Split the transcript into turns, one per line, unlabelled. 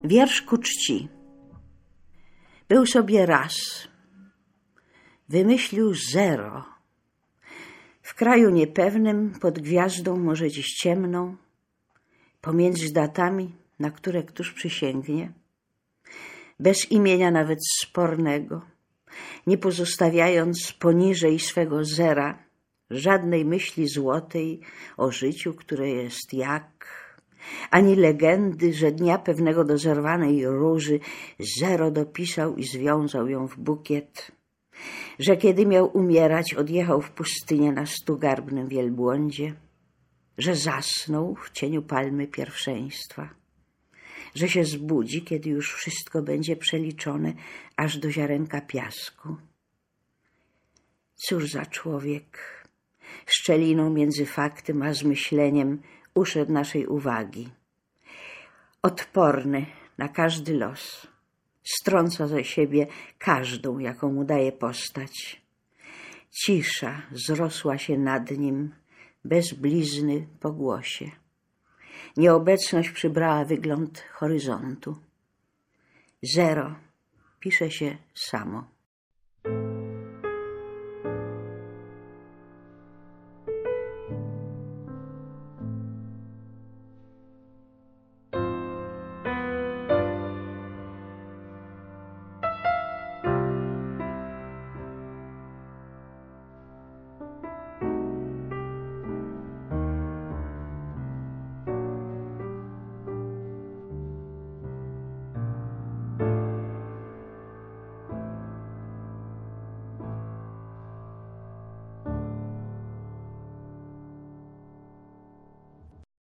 Wiersz ku czci. Był sobie raz. Wymyślił zero. W kraju niepewnym, pod gwiazdą może dziś ciemną, pomiędzy datami, na które któż przysięgnie, bez imienia nawet spornego, nie pozostawiając poniżej swego zera żadnej myśli złotej o życiu, które jest jak, ani legendy, że dnia pewnego do zerwanej róży zero dopisał i związał ją w bukiet, że kiedy miał umierać, odjechał w pustynię na 100-garbnym wielbłądzie, że zasnął w cieniu palmy pierwszeństwa, że się zbudzi, kiedy już wszystko będzie przeliczone aż do ziarenka piasku. Cóż za człowiek, szczeliną między faktem a zmyśleniem uszedł naszej uwagi. Odporny na każdy los, strąca ze siebie każdą, jaką mu daje postać. Cisza zrosła się nad nim, bez blizny po głosie. Nieobecność przybrała wygląd horyzontu. Zero pisze się samo.